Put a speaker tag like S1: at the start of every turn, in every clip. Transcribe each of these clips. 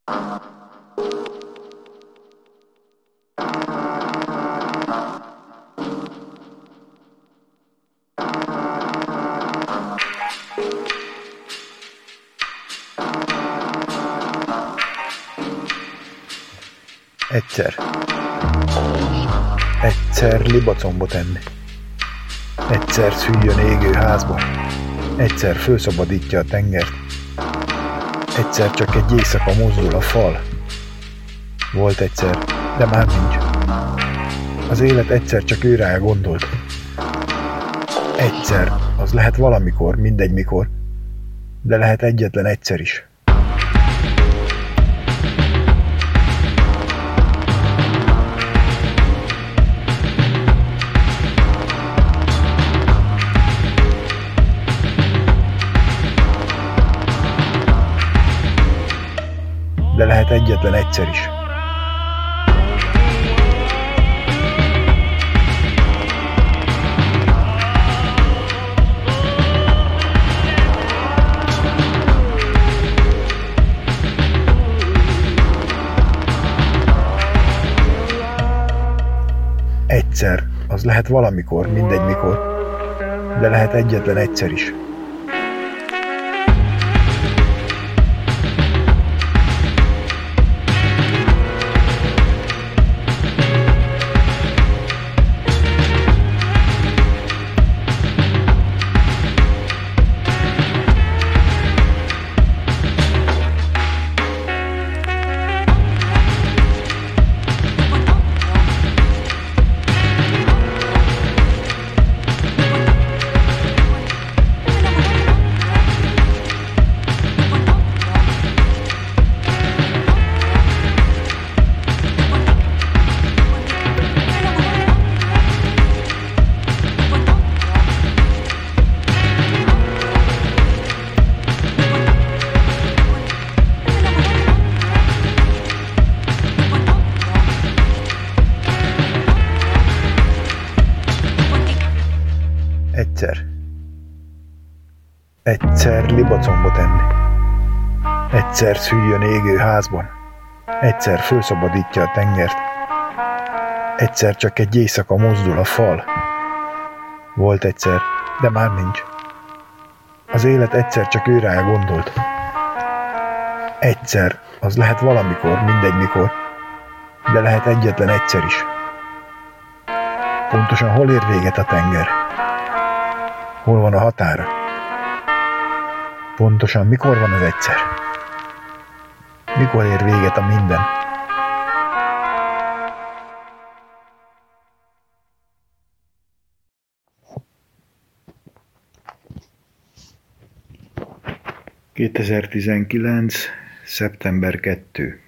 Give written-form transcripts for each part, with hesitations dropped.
S1: Egyszer libacombot enni. Egyszer szüljön égő házba. Egyszer fölszabadítja a tengert. Egyszer csak egy éjszaka mozdul a fal. Volt egyszer, de már nincs. Az élet egyszer csak őrá gondolt. Egyszer, az lehet valamikor, mindegy mikor, de lehet egyetlen egyszer is. De lehet egyetlen egyszer is. Egyszer, az lehet valamikor, mindegy mikor, de lehet egyetlen egyszer is. Egyszer libacombot enni. Egyszer szüljön égő házban. Egyszer fölszabadítja a tengert. Egyszer csak egy éjszaka mozdul a fal. Volt egyszer, de már nincs. Az élet egyszer csak őrá gondolt. Egyszer, az lehet valamikor, mindegy mikor, de lehet egyetlen egyszer is. Pontosan hol ér véget a tenger? Hol van a határa? Pontosan mikor van az egyszer? Mikor ér véget a minden? ...2019. szeptember 2.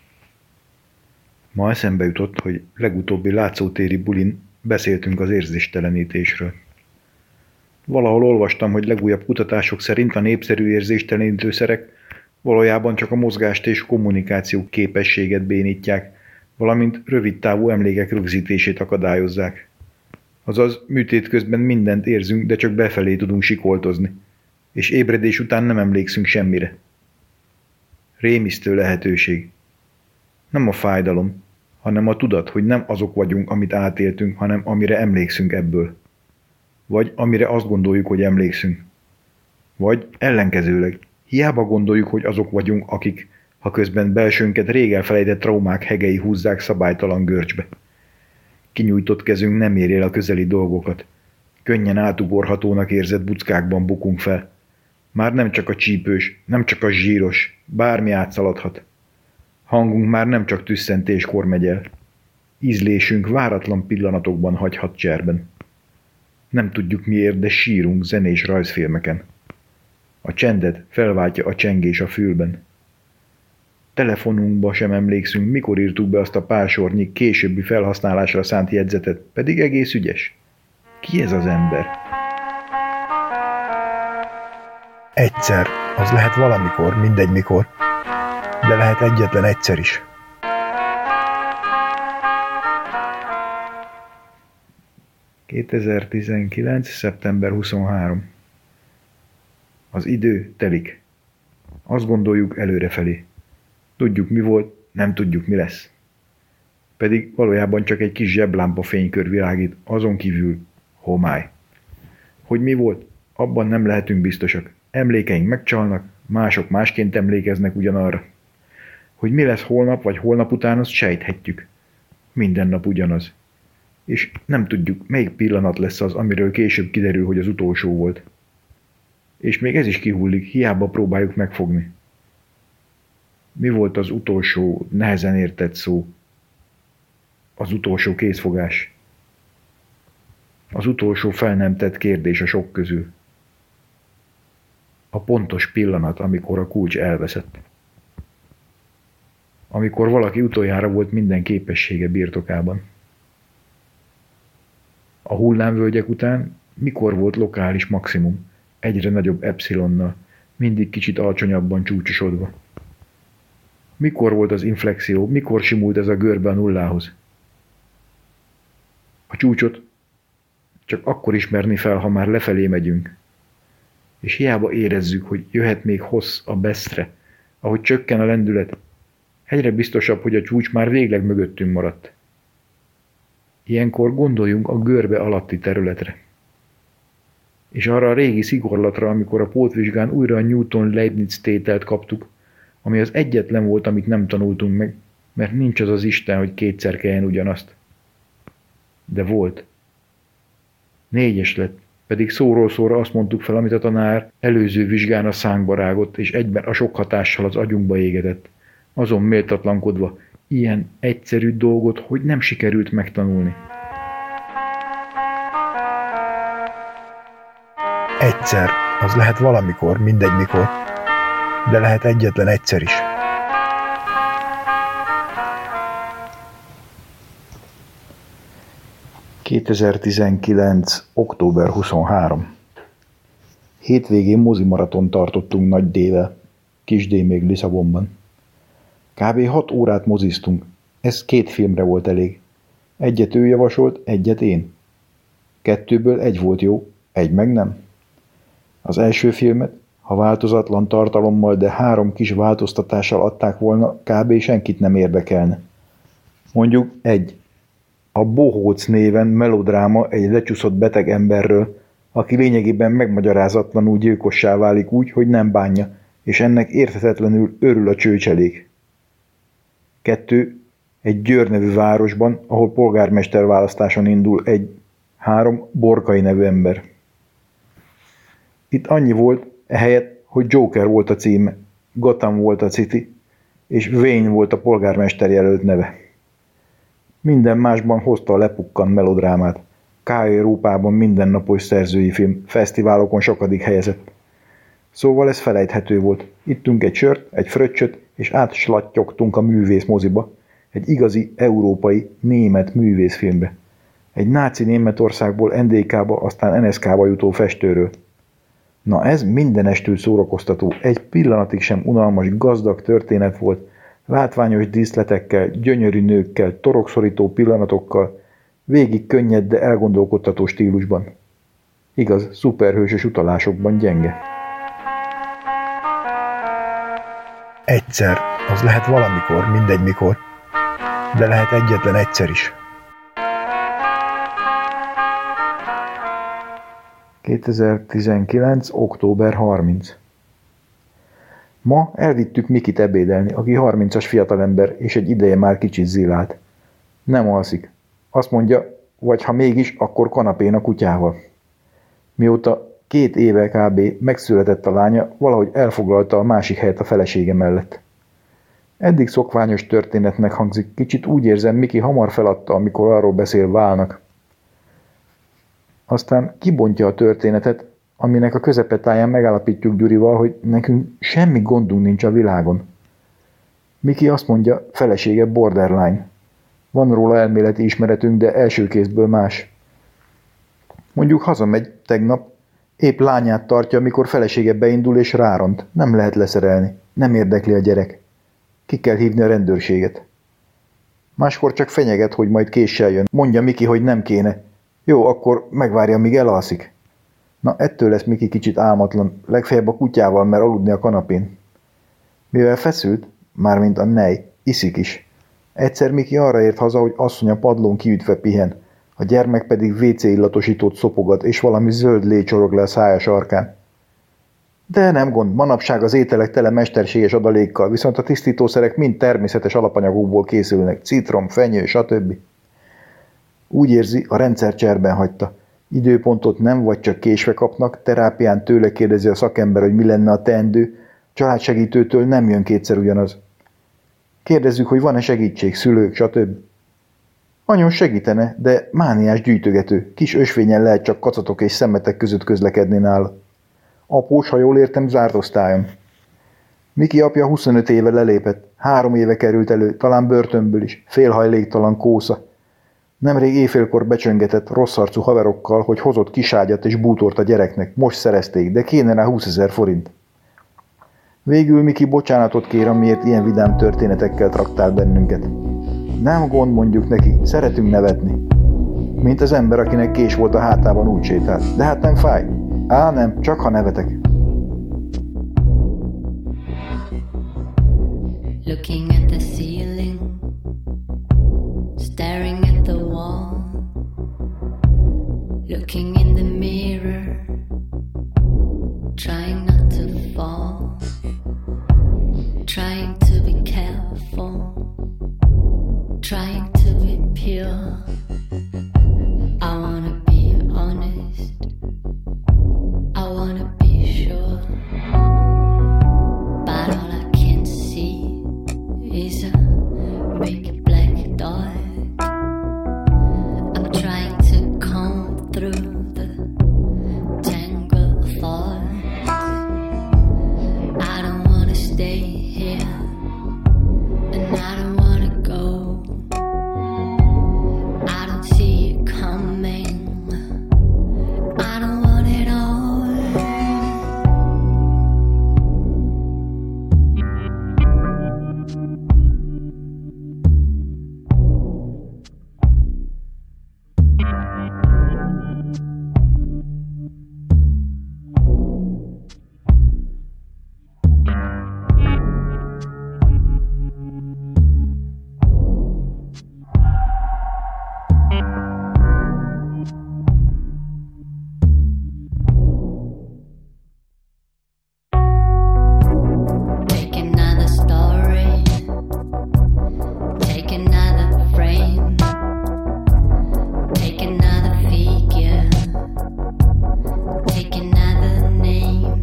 S1: Ma eszembe jutott, hogy legutóbbi látszótéri bulin beszéltünk az érzéstelenítésről. Valahol olvastam, hogy legújabb kutatások szerint a népszerű érzéstelenítőszerek valójában csak a mozgást és kommunikáció képességet bénítják, valamint rövidtávú emlékek rögzítését akadályozzák. Azaz műtét közben mindent érzünk, de csak befelé tudunk sikoltozni, és ébredés után nem emlékszünk semmire. Rémisztő lehetőség. Nem a fájdalom, hanem a tudat, hogy nem azok vagyunk, amit átéltünk, hanem amire emlékszünk ebből. Vagy amire azt gondoljuk, hogy emlékszünk. Vagy ellenkezőleg, hiába gondoljuk, hogy azok vagyunk, akik, ha közben belsőnket rég elfelejtett traumák hegei húzzák szabálytalan görcsbe. Kinyújtott kezünk nem éri el a közeli dolgokat. Könnyen átugorhatónak érzett buckákban bukunk fel. Már nem csak a csípős, nem csak a zsíros, bármi átszaladhat. Hangunk már nem csak tüsszentéskor megy el. Ízlésünk váratlan pillanatokban hagyhat cserben. Nem tudjuk miért, de sírunk zenés rajzfilmeken. A csendet felváltja a csengés a fülben. Telefonunkba sem emlékszünk, mikor írtuk be azt a pár sornyi későbbi felhasználásra szánt jegyzetet, pedig egész ügyes. Ki ez az ember? Egyszer, az lehet valamikor, mindegy mikor, de lehet egyetlen egyszer is. ...2019. szeptember 23. Az idő telik. Azt gondoljuk előrefelé. Tudjuk mi volt, nem tudjuk mi lesz. Pedig valójában csak egy kis zseblámpa fénykör világít, azon kívül homály. Hogy mi volt, abban nem lehetünk biztosak. Emlékeink megcsalnak, mások másként emlékeznek ugyanarra. Hogy mi lesz holnap vagy holnap után, azt sejthetjük. Minden nap ugyanaz. És nem tudjuk, melyik pillanat lesz az, amiről később kiderül, hogy az utolsó volt. És még ez is kihullik, hiába próbáljuk megfogni. Mi volt az utolsó, nehezen értett szó? Az utolsó kézfogás. Az utolsó fel nem tett kérdés a sok közül. A pontos pillanat, amikor a kulcs elveszett. Amikor valaki utoljára volt minden képessége birtokában. A hullámvölgyek után mikor volt lokális maximum, egyre nagyobb epszilonnal, mindig kicsit alacsonyabban csúcsosodva. Mikor volt az inflexió, mikor simult ez a görbe a nullához? A csúcsot csak akkor ismerni fel, ha már lefelé megyünk. És hiába érezzük, hogy jöhet még hossz a beszre, ahogy csökken a lendület, egyre biztosabb, hogy a csúcs már végleg mögöttünk maradt. Ilyenkor gondoljunk a görbe alatti területre. És arra a régi szigorlatra, amikor a pótvizsgán újra a Newton-Leibniz tételt kaptuk, ami az egyetlen volt, amit nem tanultunk meg, mert nincs az az Isten, hogy kétszer kelljen ugyanazt. De volt. 4-es lett, pedig szóról szóra azt mondtuk fel, amit a tanár előző vizsgán a szánkba rágott, és egyben a sok hatással az agyunkba égetett. Azon méltatlankodva, ilyen egyszerű dolgot, hogy nem sikerült megtanulni.
S2: Egyszer, az lehet valamikor, mindegy mikor, de lehet egyetlen egyszer is.
S1: ...2019. október 23. Hétvégén mozimaraton tartottunk Nagy D-vel, Kis D még Lisszabonban. Kb. 6 órát moziztunk, ez 2 filmre volt elég. Egyet ő javasolt, egyet én. 2-ből 1 volt jó, 1 meg nem. Az első filmet, ha változatlan tartalommal, de 3 kis változtatással adták volna, kb. Senkit nem érdekelne. Mondjuk 1. A Bohóc néven melodráma egy lecsúszott beteg emberről, aki lényegében megmagyarázatlanul gyilkossá válik úgy, hogy nem bánja, és ennek érthetetlenül örül a csőcselék. 2. Egy Győr nevű városban, ahol polgármester választáson indul egy 3. Borkai nevű ember. Itt annyi volt, ehelyett, hogy Joker volt a címe, Gotham volt a City, és Wayne volt a polgármester jelölt neve. Minden másban hozta a lepukkant melodrámát. K-Európában mindennapos szerzői film, fesztiválokon sokadik helyezett. Szóval ez felejthető volt. Ittünk egy sört, egy fröccsöt, és átslatyogtunk a művész moziba, egy igazi, európai, német művészfilmbe. Egy náci Németországból NDK-ba, aztán NSK-ba jutó festőről. Na ez mindenestül szórakoztató, egy pillanatig sem unalmas, gazdag történet volt, látványos díszletekkel, gyönyörű nőkkel, torokszorító pillanatokkal, végig könnyed, de elgondolkodtató stílusban. Igaz, szuperhősös utalásokban gyenge.
S2: Egyszer, az lehet valamikor, mindegy mikor, de lehet egyetlen egyszer is.
S1: 2019. október 30. Ma elvittük Mikit ebédelni, aki 30-as fiatalember, és egy ideje már kicsit zilált. Nem alszik. Azt mondja, vagy ha mégis, akkor kanapén a kutyával. Mióta 2 éve kb. Megszületett a lánya, valahogy elfoglalta a másik helyet a felesége mellett. Eddig szokványos történetnek hangzik, kicsit úgy érzem, Miki hamar feladta, amikor arról beszél Válnak. Aztán kibontja a történetet, aminek a közepetáján megállapítjuk Gyurival, hogy nekünk semmi gondunk nincs a világon. Miki azt mondja, felesége borderline. Van róla elméleti ismeretünk, de első kézből más. Mondjuk hazamegy tegnap, épp lányát tartja, amikor felesége beindul és ráront. Nem lehet leszerelni, nem érdekli a gyerek. Ki kell hívni a rendőrséget. Máskor csak fenyeget, hogy majd késsel jön. Mondja Miki, hogy nem kéne. Jó, akkor megvárja, míg elalszik. Na, ettől lesz Miki kicsit álmatlan, legfeljebb a kutyával mer aludni a kanapén. Mivel feszült, Mármint a nej, iszik is. Egyszer Miki arra ért haza, hogy asszonya padlón kiütve pihen, a gyermek pedig WC illatosítót szopogat, és valami zöld lé csorog le a szája sarkán. De nem gond, manapság az ételek tele mesterséges adalékkal, viszont a tisztítószerek mind természetes alapanyagokból készülnek, citrom, fenyő, stb. Úgy érzi, a rendszer cserben hagyta. Időpontot nem vagy csak késve kapnak, terápián tőle kérdezi a szakember, hogy mi lenne a teendő, családsegítőtől nem jön kétszer ugyanaz. Kérdezzük, hogy van-e segítség, szülők, stb. Anyon segítene, de mániás gyűjtögető, kis ösvényen lehet csak kacatok és szemetek között közlekedni nála. Após, ha jól értem, zárt osztályon. Miki apja 25 éve lelépett, 3 éve került elő, talán börtönből is, félhajléktalan kósza. Nemrég éjfélkor becsöngetett rosszarcú haverokkal, hogy hozott kiságyat és bútort a gyereknek, most szerezték, de kéne rá 20 000 forint. Végül Miki bocsánatot kér, amiért ilyen vidám történetekkel traktál bennünket. Nem gond, mondjuk neki, szeretünk nevetni. Mint az ember, akinek kés volt a hátában, úgy sétált. De hát nem fáj. Á, nem, csak ha nevetek.
S3: Looking at the ceiling, staring at the wall, looking in the mirror, trying not to fall, trying to be careful, trying to be pure. I wanna be honest, I wanna be sure, but all I can see is a big black dot. I'm trying to comb through the tangle of thoughts. I don't wanna stay here, and I don't wanna go. I don't see it coming. I don't want it all. Take another story, take another frame, take another figure, take another name,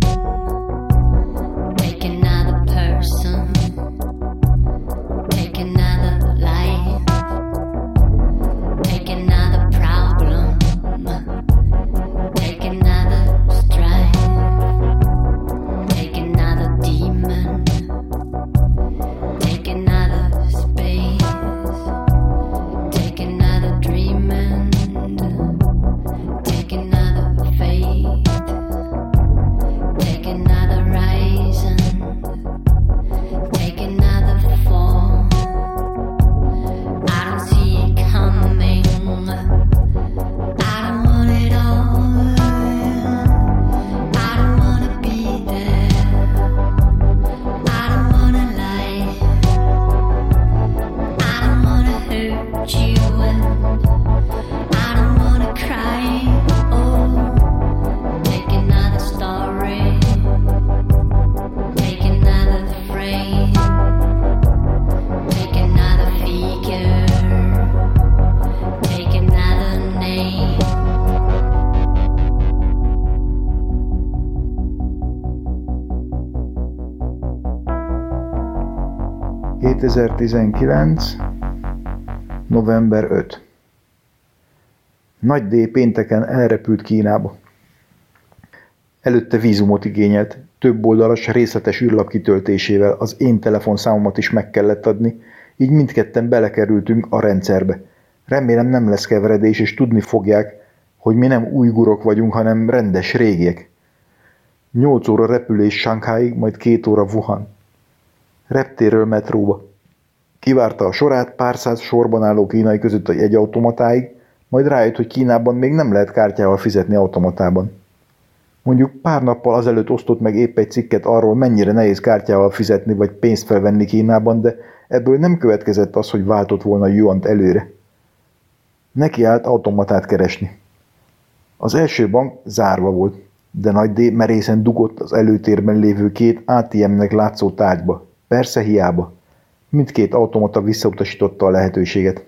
S3: take another person, take another life, take another problem, take another strife. Take another demon, take another space, take another dream and take another faith, take another rise and take another fall. I don't see it coming, I don't want it all. I don't wanna be there, I don't wanna lie, I don't wanna hurt you, and I don't wanna cry. Oh, take another story, take another frame, take another figure, take another name.
S1: 2019. november 5. Nagy D pénteken elrepült Kínába. Előtte vízumot igényelt, több oldalas részletes űrlap kitöltésével az én telefonszámomat is meg kellett adni, így mindketten belekerültünk a rendszerbe. Remélem nem lesz keveredés, és tudni fogják, hogy mi nem ujgurok vagyunk, hanem rendes régiek. 8 óra repülés Shanghaiig, majd 2 óra Wuhan. Reptérről metróba. Kivárta a sorát pár száz sorban álló kínai között a jegyautomatáig, majd rájött, hogy Kínában még nem lehet kártyával fizetni automatában. Mondjuk pár nappal azelőtt osztott meg épp egy cikket arról, mennyire nehéz kártyával fizetni vagy pénzt felvenni Kínában, de ebből nem következett az, hogy váltott volna juant előre. Neki állt automatát keresni. Az első bank zárva volt, de Nagy D merészen dugott az előtérben lévő két ATM-nek látszó tárgyba. Persze hiába. Mindkét automata visszautasította a lehetőséget.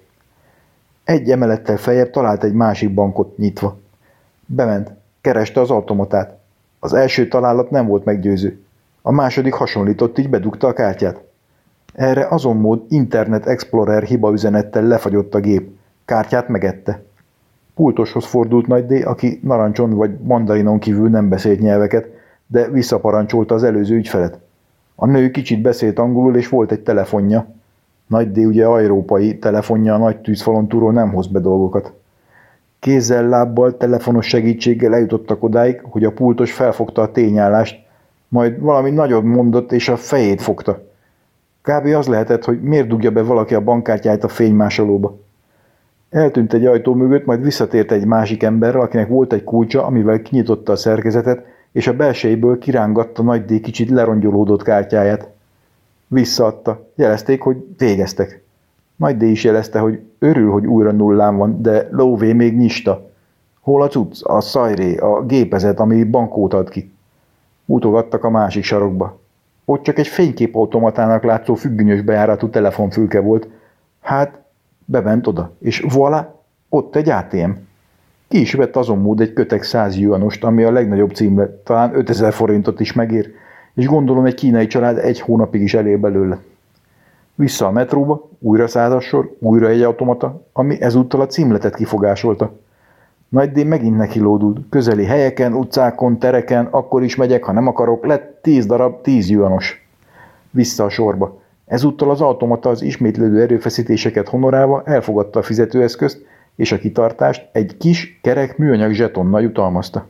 S1: Egy emelettel feljebb talált egy másik bankot nyitva. Bement, kereste az automatát. Az első találat nem volt meggyőző. A második hasonlított, így bedugta a kártyát. Erre azon mód Internet Explorer hibaüzenettel lefagyott a gép. Kártyát megette. Pultoshoz fordult Nagy D, aki narancson vagy mandarinon kívül nem beszélt nyelveket, de visszaparancsolta az előző ügyfelet. A nő kicsit beszélt angolul, és volt egy telefonja. Nagy D ugye európai, telefonja a nagy tűzfalon túlról nem hoz be dolgokat. Kézzel, lábbal, telefonos segítséggel eljutottak odáig, hogy a pultos felfogta a tényállást, majd valami nagyot mondott, és a fejét fogta. Kb. Az lehetett, hogy miért dugja be valaki a bankkártyáját a fénymásolóba. Eltűnt egy ajtó mögött, majd visszatért egy másik emberrel, akinek volt egy kulcsa, amivel kinyitotta a szerkezetet, és a belsejéből kirángatta Nagy D kicsit lerongyolódott kártyáját. Visszaadta. Jelezték, hogy végeztek. Nagy D is jelezte, hogy örül, hogy újra nullán van, de lóvé még nyista. Hol a cucc, a szajré, a gépezet, ami bankót ad ki? Mutogattak a másik sarokba. Ott csak egy fényképautomatának látszó függönyös bejáratú telefonfülke volt. Hát, bement oda, és voilà, ott egy ATM. Ki is vett azon mód egy kötek 100 yuanost, ami a legnagyobb címlet, talán 5000 forintot is megér, és gondolom egy kínai család egy hónapig is elér belőle. Vissza a metróba, újra 100-as sor, újra egy automata, ami ezúttal a címletet kifogásolta. Nagy D megint nekilódult, közeli helyeken, utcákon, tereken, akkor is megyek, ha nem akarok, lett 10 darab 10 yuanos. Vissza a sorba. Ezúttal az automata az ismétlődő erőfeszítéseket honorálva elfogadta a fizetőeszközt, és a kitartást egy kis, kerek műanyag zsetonnal jutalmazta.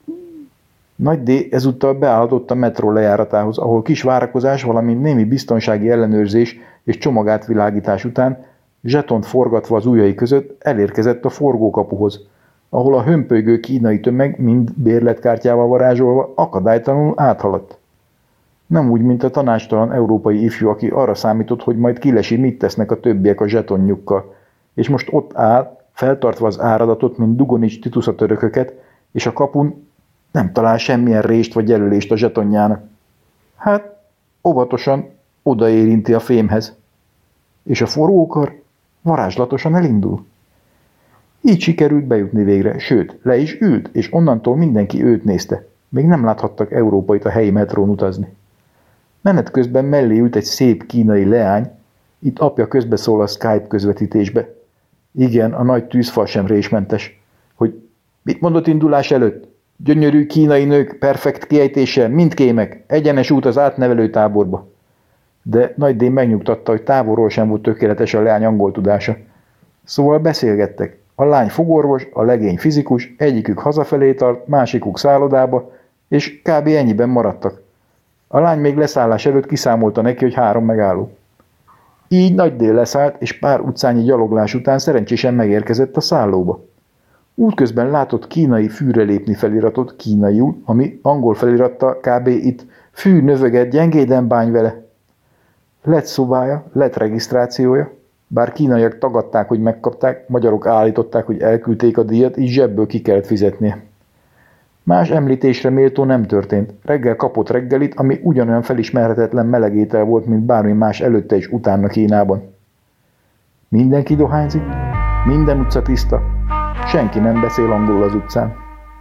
S1: Nagy D ezúttal beállhatott a metró lejáratához, ahol kis várakozás, valamint némi biztonsági ellenőrzés és csomagátvilágítás után, zsetont forgatva az ujjai között elérkezett a forgókapuhoz, ahol a hömpölygő kínai tömeg mind bérletkártyával varázsolva akadálytalanul áthaladt. Nem úgy, mint a tanácstalan európai ifjú, aki arra számított, hogy majd kilesi, mit tesznek a többiek a zsetonjukkal, és most ott áll, feltartva az áradatot, mint Dugonics tituszatörököket, és a kapun nem talál semmilyen rést vagy jelölést a zsetonjának. Hát, óvatosan odaérinti a fémhez, és a forgókar varázslatosan elindul. Így sikerült bejutni végre, sőt, le is ült, és onnantól mindenki őt nézte. Még nem láthattak európait a helyi metrón utazni. Menet közben mellé ült egy szép kínai leány, itt apja közbeszól a Skype közvetítésbe. Igen, a nagy tűzfal sem résmentes. Hogy mit mondott indulás előtt? Gyönyörű kínai nők, perfekt kiejtéssel, mind kémek, egyenes út az átnevelő táborba. De Nagy D megnyugtatta, hogy távolról sem volt tökéletes a leány angol tudása. Szóval beszélgettek. A lány fogorvos, a legény fizikus, egyikük hazafelé tart, másikuk szállodába, és kb. Ennyiben maradtak. A lány még leszállás előtt kiszámolta neki, hogy 3 megálló. Így Nagy D leszállt, és pár utcányi gyaloglás után szerencsésen megérkezett a szállóba. Útközben látott kínai fűre lépni feliratot kínaiul, ami angol feliratta kb. Itt fű növöget, gyengéden bánj vele. Lett szobája, lett regisztrációja, bár kínaiak tagadták, hogy megkapták, magyarok állították, hogy elküldték a díjat, így zsebből ki kellett fizetnie. Más említésre méltó nem történt. Reggel kapott reggelit, ami ugyanolyan felismerhetetlen melegétel volt, mint bármi más előtte és utána Kínában. Mindenki dohányzik, minden utca tiszta, senki nem beszél angolul az utcán.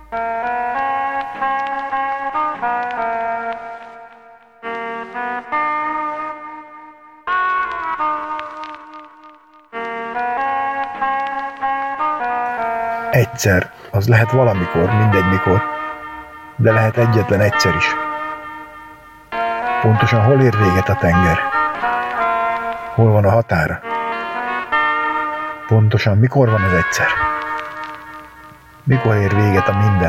S2: Egyszer, az lehet valamikor, mindegy mikor, de lehet egyetlen egyszer is. Pontosan hol ér véget a tenger? Hol van a határa? Pontosan mikor van az egyszer? Mikor ér véget a minden?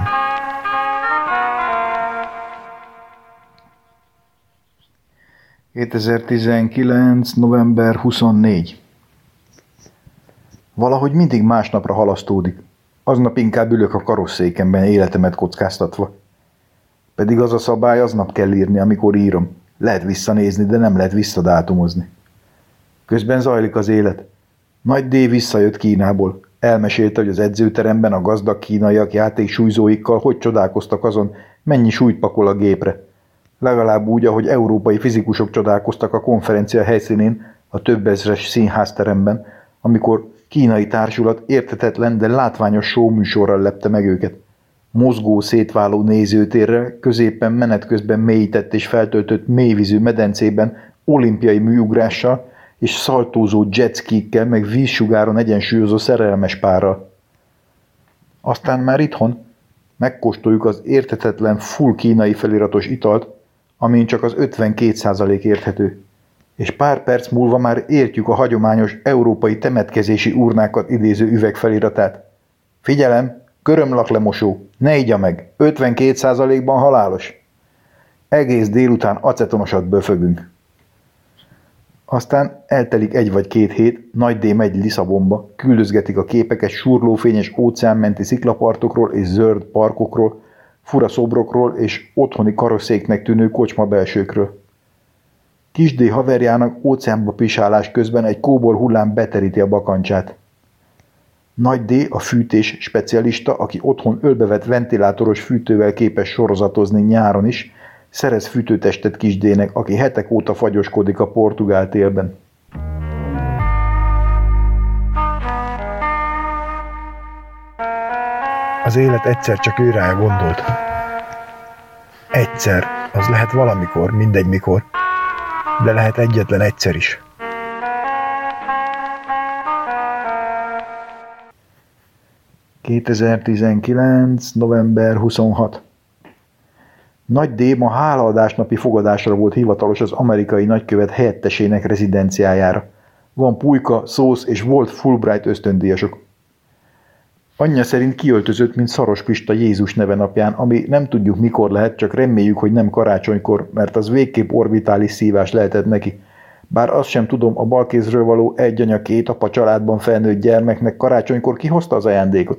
S1: ...2019. november 24. Valahogy mindig másnapra halasztódik. Aznap inkább ülök a karosszékemben életemet kockáztatva. Pedig az a szabály, aznap kell írni, amikor írom. Lehet visszanézni, de nem lehet visszadátumozni. Közben zajlik az élet. Nagy D visszajött Kínából. Elmesélte, hogy az edzőteremben a gazdag kínaiak játéksúlyzóikkal hogy csodálkoztak azon, mennyi súlyt pakol a gépre. Legalább úgy, ahogy európai fizikusok csodálkoztak a konferencia helyszínén, a több ezres színházteremben, amikor kínai társulat érthetetlen, de látványos showműsorral lepte meg őket. Mozgó, szétváló nézőtérrel, középen menet közben mélyített és feltöltött mélyvízű medencében olimpiai műugrással és szaltózó jetskikkel, meg vízsugáron egyensúlyozó szerelmes párral. Aztán már itthon megkóstoljuk az érthetetlen full kínai feliratos italt, amin csak az 52% érthető. És pár perc múlva már értjük a hagyományos európai temetkezési urnákat idéző üveg feliratát. Figyelem, körömlaklemosó, ne igya meg, 52%-ban halálos. Egész délután acetonosat böfögünk. Aztán eltelik 1 vagy 2 hét, Nagy D megy Lisszabonba, küldözgetik a képeket surlófényes óceánmenti sziklapartokról és zöld parkokról, fura szobrokról és otthoni karosszéknek tűnő kocsma belsőkről. Kis D haverjának óceánba pisálás közben egy kóbor hullám beteríti a bakancsát. Nagy D a fűtés specialista, aki otthon ölbevett ventilátoros fűtővel képes sorozatozni nyáron is, szerez fűtőtestet Kis D-nek, aki hetek óta fagyoskodik a portugál télben.
S2: Az élet egyszer csak őrá gondolt. Egyszer, az lehet valamikor, mindegy mikor, de lehet egyetlen egyszer is.
S1: ...2019. november 26. Nagy D ma hálaadásnapi fogadásra volt hivatalos az amerikai nagykövet helyettesének rezidenciájára. Van pulyka, szósz és volt Fulbright ösztöndíjasok. Anyja szerint kiöltözött, mint Szaros Pista Jézus neve napján, ami nem tudjuk mikor lehet, csak reméljük, hogy nem karácsonykor, mert az végképp orbitális szívás lehetett neki. Bár azt sem tudom, a balkézről való egy anya két apa családban felnőtt gyermeknek karácsonykor kihozta az ajándékot.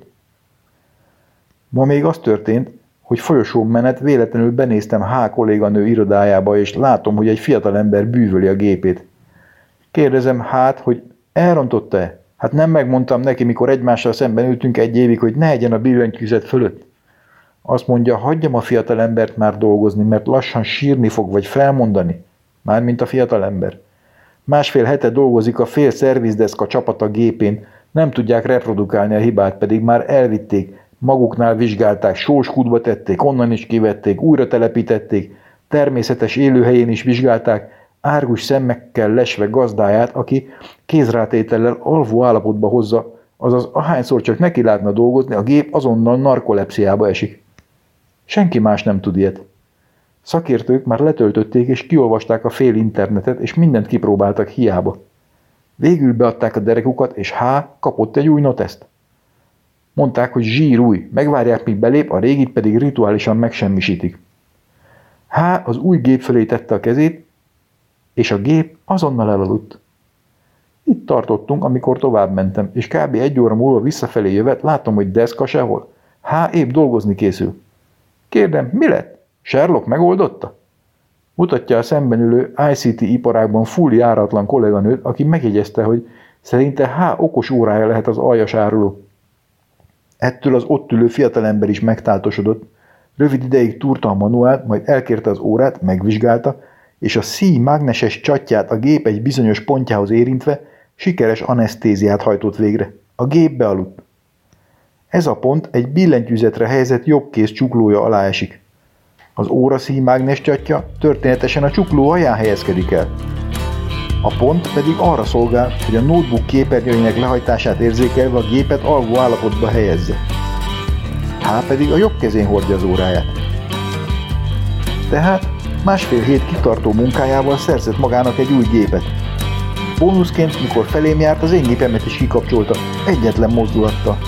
S1: Ma még az történt, hogy folyosón menet véletlenül benéztem H. kolléganő irodájába, és látom, hogy egy fiatalember bűvöli a gépét. Kérdezem hát, hogy elrontotta-e? Hát nem megmondtam neki, mikor egymással szemben ültünk 1 évig, hogy ne egyen a billentyűzet fölött. Azt mondja, hagyjam a fiatalembert már dolgozni, mert lassan sírni fog, vagy felmondani. Mármint a fiatalember. 1,5 hete dolgozik a fél szervizdeszka csapata gépén, nem tudják reprodukálni a hibát, pedig már elvitték, maguknál vizsgálták, sóskútba tették, onnan is kivették, újra telepítették, természetes élőhelyén is vizsgálták, árgus szemmekkel lesve gazdáját, aki kézrátétellel alvó állapotba hozza, azaz ahányszor csak neki látna dolgozni, a gép azonnal narkolepsziába esik. Senki más nem tud ilyet. Szakértők már letöltötték és kiolvasták a fél internetet, és mindent kipróbáltak hiába. Végül beadták a derekukat, és H. kapott egy új noteszt. Mondták, hogy zsír új, megvárják, míg belép, a régit pedig rituálisan megsemmisítik. H. az új gép felé tette a kezét, és a gép azonnal elaludt. Itt tartottunk, amikor tovább mentem, és kb. 1 óra múlva visszafelé jövet, látom, hogy deszka sehol. H. épp dolgozni készül. Kérdem, mi lett? Sherlock megoldotta? Mutatja a szemben ülő ICT iparágban full járatlan kolléganőt, aki megjegyezte, hogy szerinte H. okos órája lehet az aljas áruló. Ettől az ott ülő fiatalember is megtáltosodott, rövid ideig túrta a manuált, majd elkérte az órát, megvizsgálta, és a szíj mágneses csatját a gép egy bizonyos pontjához érintve sikeres anesztéziát hajtott végre. A gép bealudt. Ez a pont egy billentyűzetre helyezett jobbkéz csuklója alá esik. Az óra szíj mágnes csatja történetesen a csukló alján helyezkedik el. A pont pedig arra szolgál, hogy a notebook képernyőinek lehajtását érzékelve a gépet alvó állapotba helyezze. H. pedig a jobb kezén hordja az óráját. Tehát 1,5 hét kitartó munkájával szerzett magának egy új gépet. Bónuszként, mikor felém járt, az én gépemet is kikapcsolta, egyetlen mozdulattal.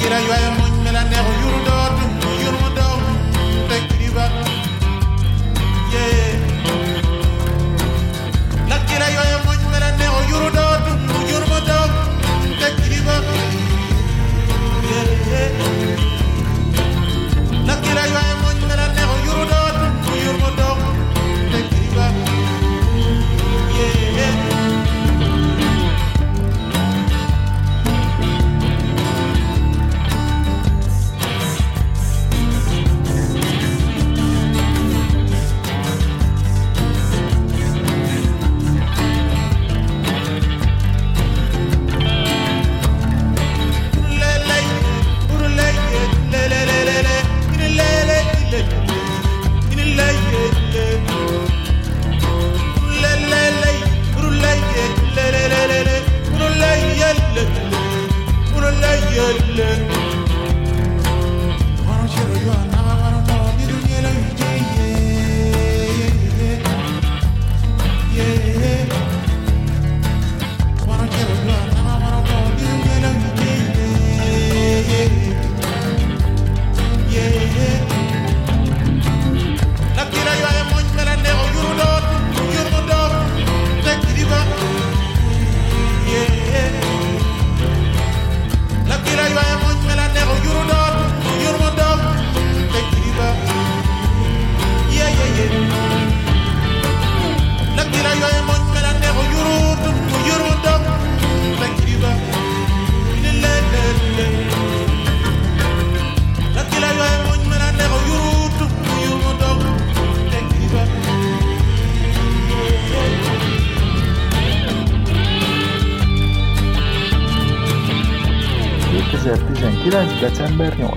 S1: December 8.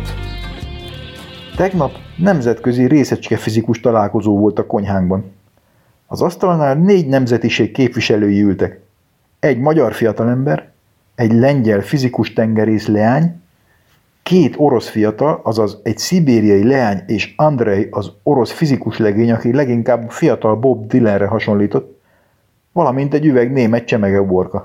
S1: Tegnap nemzetközi részecskefizikus találkozó volt a konyhánkban. Az asztalnál 4 nemzetiség képviselői ültek. Egy magyar fiatalember, egy lengyel fizikus tengerész leány, 2 orosz fiatal, azaz egy szibériai leány és Andrei az orosz fizikus legény, aki leginkább fiatal Bob Dylanre hasonlított, valamint egy üveg német csemegeuborka.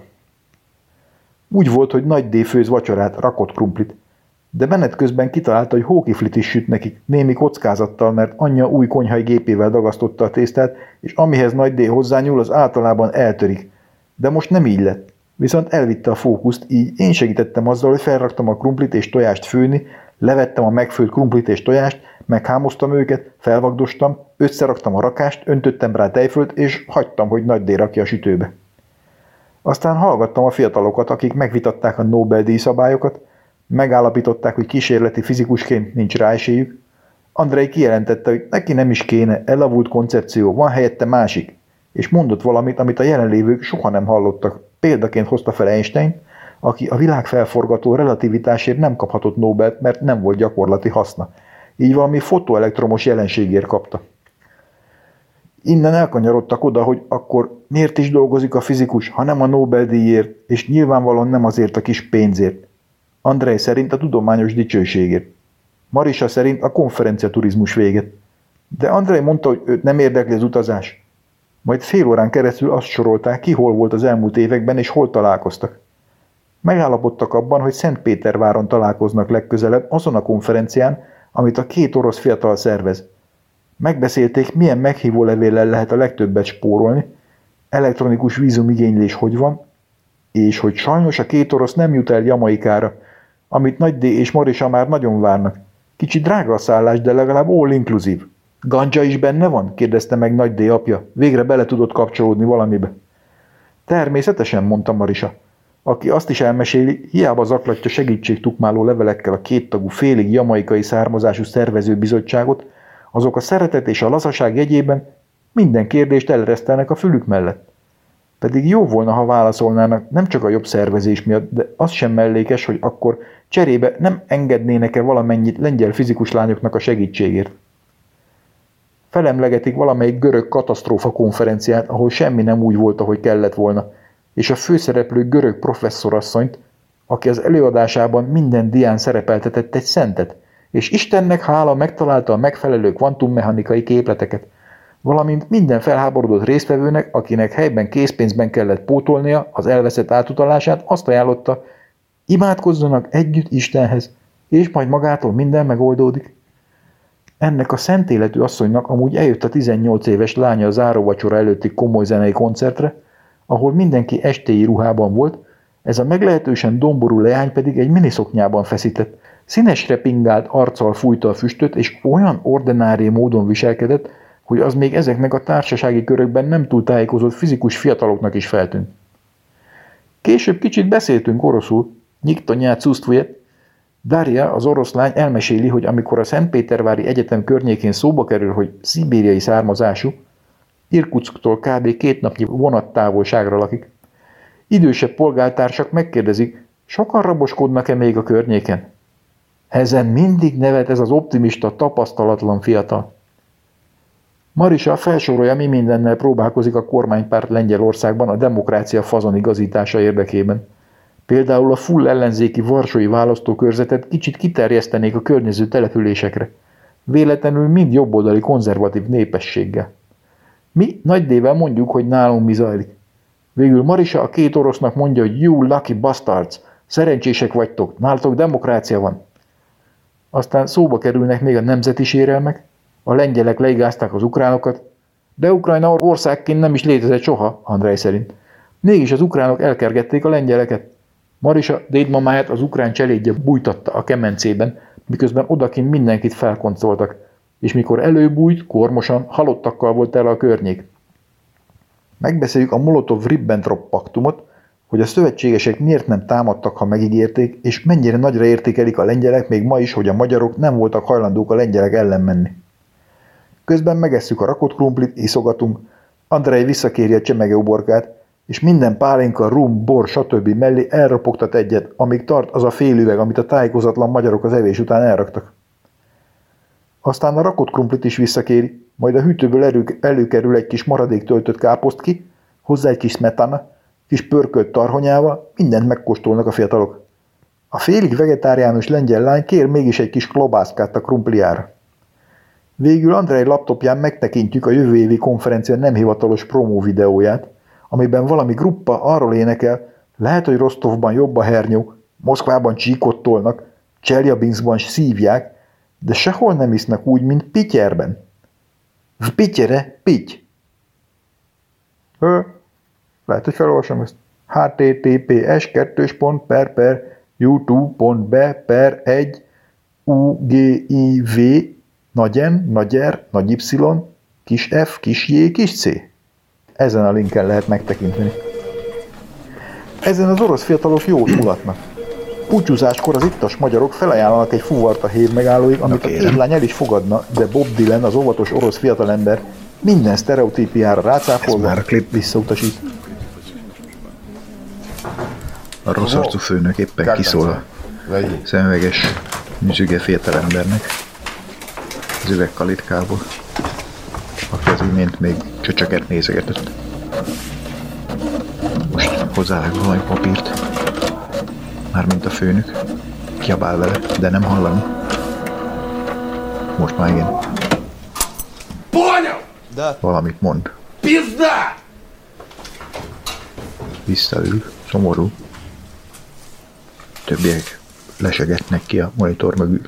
S1: Úgy volt, hogy Nagy D főz vacsorát, rakott krumplit, de menet közben kitalálta, hogy hókiflit is süt nekik, némi kockázattal, mert anyja új konyhai gépével dagasztotta a tésztát, és amihez Nagy D hozzányúl, az általában eltörik. De most nem így lett. Viszont elvitte a fókuszt, így én segítettem azzal, hogy felraktam a krumplit és tojást főni, levettem a megfőtt krumplit és tojást, meghámoztam őket, felvagdostam, összeraktam a rakást, öntöttem rá tejfölt, és hagytam, hogy Nagy D rakja a sütőbe. Aztán hallgattam a fiatalokat, akik megvitatták a Nobel-díj szabályokat, megállapították, hogy kísérleti fizikusként nincs rá esélyük. Andrei kijelentette, hogy neki nem is kéne, elavult koncepció, van helyette másik, és mondott valamit, amit a jelenlévők soha nem hallottak. Példaként hozta fel Einstein, aki a világfelforgató relativitásért nem kaphatott Nobelt, mert nem volt gyakorlati haszna. Így valami fotoelektromos jelenségért kapta. Innen elkanyarodtak oda, hogy akkor miért is dolgozik a fizikus, ha nem a Nobel-díjért, és nyilvánvalóan nem azért a kis pénzért. Andrei szerint a tudományos dicsőségért. Marisa szerint a konferenciaturizmus véget. De Andrei mondta, hogy őt nem érdekli az utazás. Majd fél órán keresztül azt sorolták, ki hol volt az elmúlt években, és hol találkoztak. Megállapodtak abban, hogy Szentpéterváron találkoznak legközelebb azon a konferencián, amit a 2 orosz fiatal szervez. Megbeszélték, milyen meghívólevéllel lehet a legtöbbet spórolni, elektronikus vízumigénylés hogy van, és hogy sajnos a 2 orosz nem jut el Jamaikára, amit Nagy D és Marisa már nagyon várnak. Kicsit drága a szállás, de legalább all inclusive. Ganja is benne van? Kérdezte meg Nagy D apja. Végre bele tudott kapcsolódni valamibe. Természetesen, mondta Marisa, aki azt is elmeséli, hiába zaklatja segítségtukmáló levelekkel a 2 tagú félig jamaikai származású szervezőbizottságot, azok a szeretet és a lazaság jegyében minden kérdést eleresztelnek a fülük mellett. Pedig jó volna, ha válaszolnának nem csak a jobb szervezés miatt, de az sem mellékes, hogy akkor cserébe nem engednének-e valamennyit lengyel fizikus lányoknak a segítségért. Felemlegetik valamelyik görög katasztrófa konferenciát, ahol semmi nem úgy volt, ahogy kellett volna, és a főszereplő görög professzorasszonyt, aki az előadásában minden dián szerepeltetett egy szentet, és Istennek hála megtalálta a megfelelő kvantummechanikai képleteket, valamint minden felháborodott résztvevőnek, akinek helyben készpénzben kellett pótolnia az elveszett átutalását, azt ajánlotta, imádkozzanak együtt Istenhez, és majd magától minden megoldódik. Ennek a szent életű asszonynak amúgy eljött a 18 éves lánya a záróvacsora előtti komoly zenei koncertre, ahol mindenki estéi ruhában volt, ez a meglehetősen domború leány pedig egy miniszoknyában feszített, színesre pingált arccal fújta a füstöt, és olyan ordinári módon viselkedett, hogy az még ezeknek a társasági körökben nem túl tájékozott fizikus fiataloknak is feltűnt. Később kicsit beszéltünk oroszul, nyikta nyát szusztvujet. Daria, az oroszlány elmeséli, hogy amikor a Szentpétervári Egyetem környékén szóba kerül, hogy szibériai származású, Irkutsktól kb. 2 napnyi vonattávolságra lakik. Idősebb polgártársak megkérdezik, sokan raboskodnak-e még a környéken? Ezen mindig nevet ez az optimista, tapasztalatlan fiatal. Marisa felsorolja, mi mindennel próbálkozik a kormánypárt Lengyelországban a demokrácia fazonigazítása érdekében. Például a full ellenzéki varsói választókörzetet kicsit kiterjesztenék a környező településekre. Véletlenül mind jobboldali konzervatív népességgel. Mi nagy D-vel mondjuk, hogy nálunk mi zajlik. Végül Marisa a 2 orosznak mondja, hogy you lucky bastards, szerencsések vagytok, nálatok demokrácia van. Aztán szóba kerülnek még a nemzeti sérelmek, a lengyelek leigázták az ukránokat, de Ukrajna országként nem is létezett soha, Andrej szerint. Mégis az ukránok elkergették a lengyeleket. Marisa dédmamáját az ukrán cselédje bújtatta a kemencében, miközben odakint mindenkit felkoncoltak, és mikor előbújt, kormosan, halottakkal volt el a környék. Megbeszéljük a Molotov-Ribbentrop paktumot, hogy a szövetségesek miért nem támadtak, ha megígérték, és mennyire nagyra értékelik a lengyelek még ma is, hogy a magyarok nem voltak hajlandók a lengyelek ellen menni. Közben megesszük a rakott krumplit, iszogatunk, Andrej visszakéri a csemege uborkát, és minden pálinka, rum, bor, stb. Mellé elropogtat egyet, amíg tart az a fél üveg, amit a tájékozatlan magyarok az evés után elraktak. Aztán a rakott krumplit is visszakéri, majd a hűtőből előkerül egy kis maradék töltött káposztki, hozzá egy kis smetana, kis pörkölt tarhonyával, mindent megkóstolnak a fiatalok. A félig vegetáriánus lengyel lány kér mégis egy kis klobászkát a krumpliára. Végül Andrej laptopján megtekintjük a jövő évi konferencia nem hivatalos promó videóját, amiben valami gruppa arról énekel, lehet, hogy Rostovban jobb a hernyó, Moszkvában csíkot tolnak, Cseljabinszban szívják, de sehol nem isznak úgy, mint Pityerben. V Pityere, pitty. Lehet, hogy felolvasom ezt. https://youtube.be/1 ugiv nagy N, nagy R, nagy Y, kis F, kis J, kis C. Ezen a linken lehet megtekinteni. Ezen az orosz fiatalok jót mulatnak. Búcsúzáskor az ittas magyarok felajánlanak egy fuvart a hévmegállóig, amit a kézlány el is fogadna, de Bob Dylan, az óvatos orosz fiatalember, minden sztereotípiára rácáfolva visszautasít.
S2: A rossz arcú főnök éppen kiszól a szemüveges, nyüzsüge fiatalembernek az üvegkalitkából, aki az imént még csöcsöket nézegetett. Most hozzávág valami papírt, mármint a főnök, kiabál vele, de nem hallani. Most már igen. Valamit mond. Visszaül, szomorú. Többiek lesegetnek ki a monitor mögül.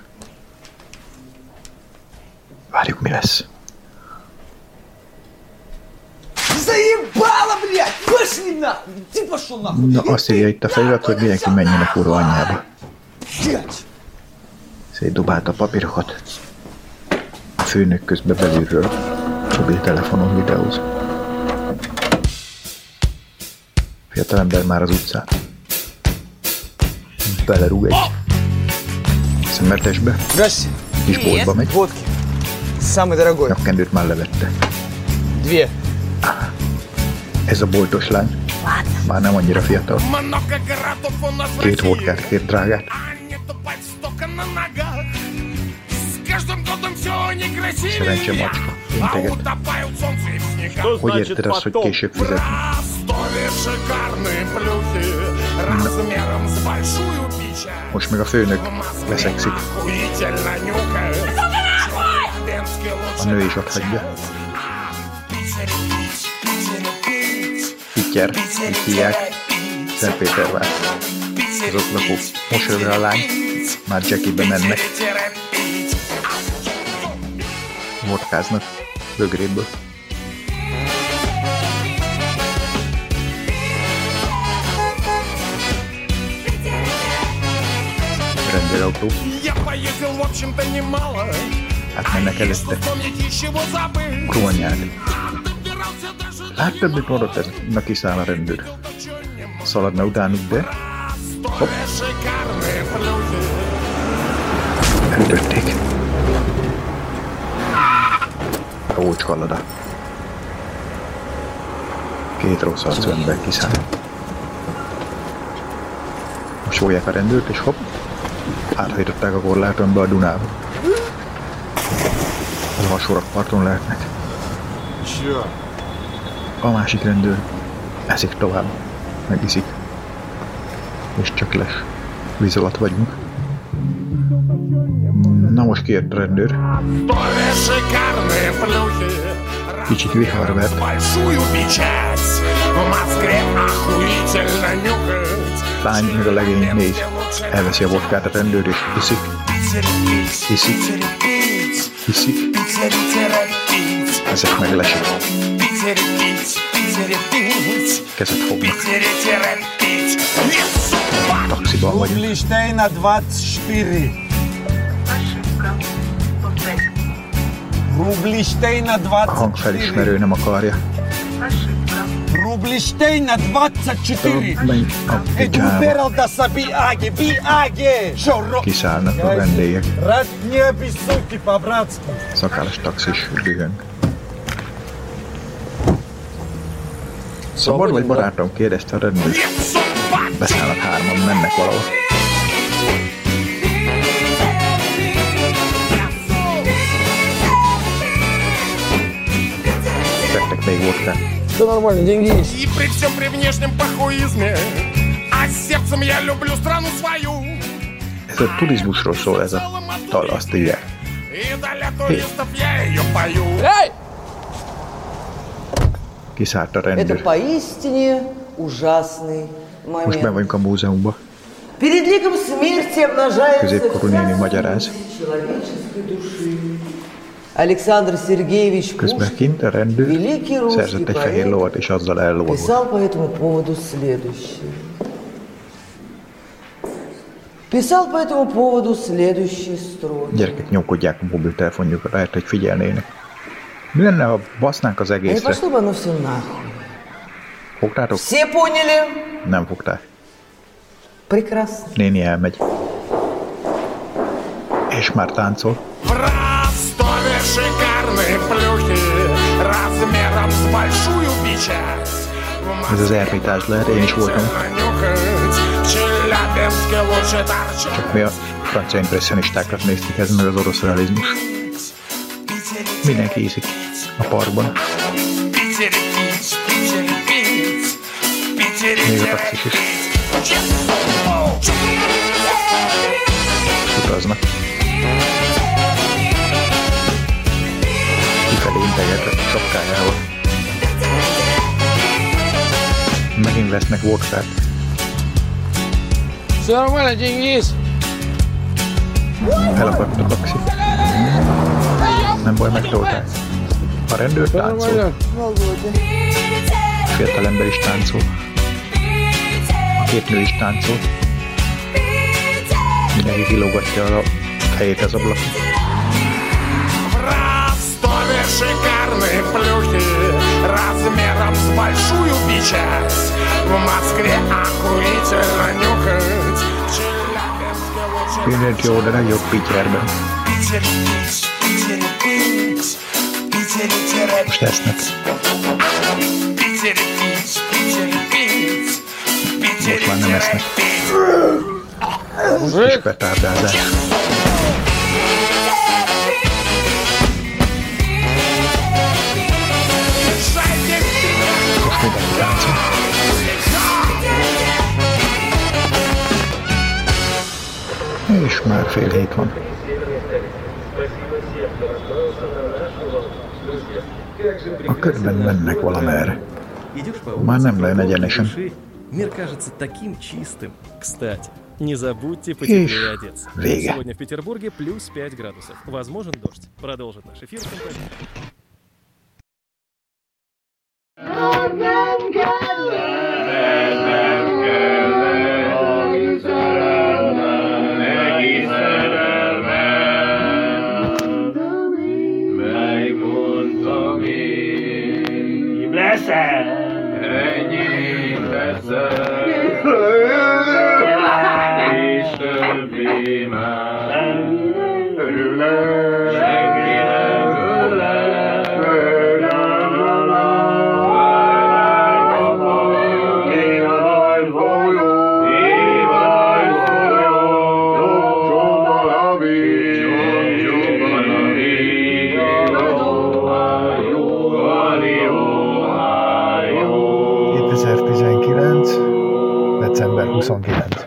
S2: Várjuk, mi lesz. Na, azt írja itt a felirat, hogy mindenki menjen a kurva anyjába. Szétdobálta a papírokat. A főnök közben belülről mobiltelefonon videóz. Fiatalember már az utcán. Belerúg egy szemertesbe. Kis boltba megy. Nyakkendőt már levette. Ez a boltos lány. Már nem annyira fiatal. 2 vodkát kér drágát. Szerencse macska, integet. Hogy érted azt, hogy később fizetni? Most meg a főnök leszekszik. A nő is ott hagyja. Pityer, így hívják, Szentpétervár. Az ott lakó mosolyogja a lány, Már Jackie-be mennek. Vodkáznak bögréből. Rendőrautó. Hát mennek előtte. Krónyák. Láttad, mit mondott ez? Na kiszáll a rendőr. Szaladna utánuk, de... Hopp. Elütötték. Ócska lada. 2 rossz arcú ember kiszáll. Most fogják a rendőrt, és hopp. Áthajtották a korláton be a Dunába. Az alsórakparton lehetnek. A másik rendőr eszik tovább, megiszik. És csak lesz. Víz alatt vagyunk. Na most kijött a rendőr. Kicsit vihar vett. Lány meg a legény néz. Elveszi a vodkát a rendőr és iszik. Iszik. Iszik. Ezek meg lesik. Kezet fognak. Taxiban vagyunk.
S4: Rублей на 24. Rублей на 24.
S2: A hangfelismerő nem akarja.
S4: Rублей на 24. Eduperel da să biage, biage.
S2: Kiszállnak a vendégek.
S4: Rad не обессудьте по-братски.
S2: Szakállas taxis dühöng. Szabad vagy barátom? Kérdezte a rendőr. Beszállnak hárman, mennek valahol. Vettek még vodkát.
S4: Все нормально, деньги есть.
S5: И при всем при внешнем похуизме, а сердцем я люблю страну свою.
S2: Ez a turizmusról szól ez a dal, azt írják.
S5: И для туристов я ее пою.
S2: Kiszállt a
S6: Это
S2: rendőr.
S6: поистине ужасный
S2: Most ben
S6: момент.
S2: vagyunk a múzeumban.
S6: Перед ликом смерти обнажается
S2: Középkorú néni magyaráz.
S6: человеческой души. Александр Сергеевич
S2: Közben
S6: Пушкин,
S2: kint a rendőr
S6: великий русский
S2: szerzett egy fehér
S6: поэт,
S2: lovat, és azzal ellovagol.
S6: писал по этому поводу следующее. Писал по этому поводу следующие строки.
S2: Gyerekek nyomkodják a mobiltelefonjukat, lehet, hogy figyelnének. Mi lenne, ha basznánk az
S6: И
S2: egészre?
S6: пошло бы оно все нахуй.
S2: Fogtátok?
S6: Все поняли?
S2: Nem fogták.
S6: Прекрасно.
S2: Néni elmegy. És már táncol.
S5: В Ростове шикарные плюхи размером с большую печать. В
S2: Ez az ermitás lehet, én is voltam.
S5: нюхать, в Челябинске лучше торчать.
S2: Csak mi a francia impresszionistákat néztük, ez meg az orosz realizmus. Mindenki iszik a parkban.
S5: Питере пить, Питере пить, Питере
S2: Még a
S5: терять.
S2: taxis is utaznak. Kifelé integet a sapkájával. Megint vesznek vodkát.
S4: Все нормально, деньги есть.
S2: Elakadt a taxi. Nem baj, megtolták. A rendőr táncol. A fiatalember is táncol. A két nő is táncol. Mindenki kilógatja a fejét az ablakon.
S5: В Ростове шикарные плюхи размером с большую печать. В Москве охуительно нюхать, в Челябинске лучше
S2: Mindent jó, de legjobb Pittyerben.
S5: Питере пить, Питере пить, Питере терять.
S2: Most esznek.
S5: Питере пить, Питере пить, Питере
S2: Most már nem esznek.
S5: терять.
S2: Kis petárdázás. Most mindenki táncol. És már fél hét van. A körben mennek valamerre.
S7: Идешь по
S2: Már
S7: улице,
S2: nem lejön egyenesen.
S7: души, мир кажется таким чистым. Кстати, Не забудьте потеплее одеться.
S2: Vége.
S7: Сегодня в Петербурге плюс 5 градусов. Возможен дождь. Продолжит наш эфир компания.
S2: December 29.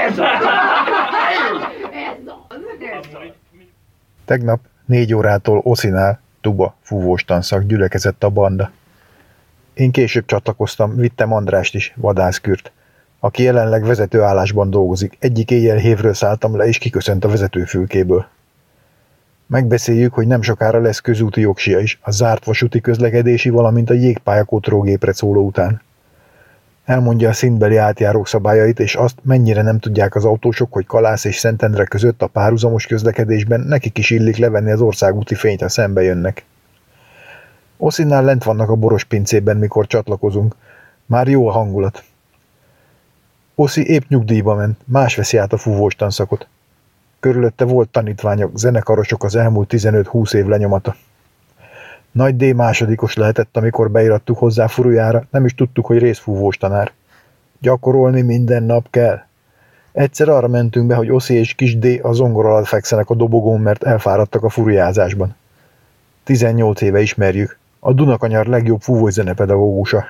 S2: Tegnap 4 órától Oszinál, Tuba fúvós tanszak gyülekezett a banda. Én később csatlakoztam, vittem Andrást is, vadászkürt, aki jelenleg vezetőállásban dolgozik. Egyik éjjel-hévről szálltam le, és kiköszönt a vezetőfülkéből. Megbeszéljük, hogy nem sokára lesz közúti jogsia is, a zárt vasúti közlekedési, valamint a jégpályakotrollgépre szóló után. Elmondja a szintbeli átjárók szabályait, és azt, mennyire nem tudják az autósok, hogy Kalász és Szentendre között a párhuzamos közlekedésben nekik is illik levenni az országúti fényt, ha szembe jönnek. Oszinnál lent vannak a boros pincében, mikor csatlakozunk. Már jó a hangulat. Oszi épp nyugdíjba ment, más veszi át a fúvós tanszakot. Körülötte volt tanítványok, zenekarosok, az elmúlt 15-20 év lenyomata. Nagy D másodikos lehetett, amikor beirattuk hozzá furujára, nem is tudtuk, hogy részfúvós tanár. Gyakorolni minden nap kell. Egyszer arra mentünk be, hogy Oszi és kis D a zongora alatt fekszenek a dobogón, mert elfáradtak a furujázásban. 18 éve ismerjük. A Dunakanyar legjobb fúvós zenepedagógusa.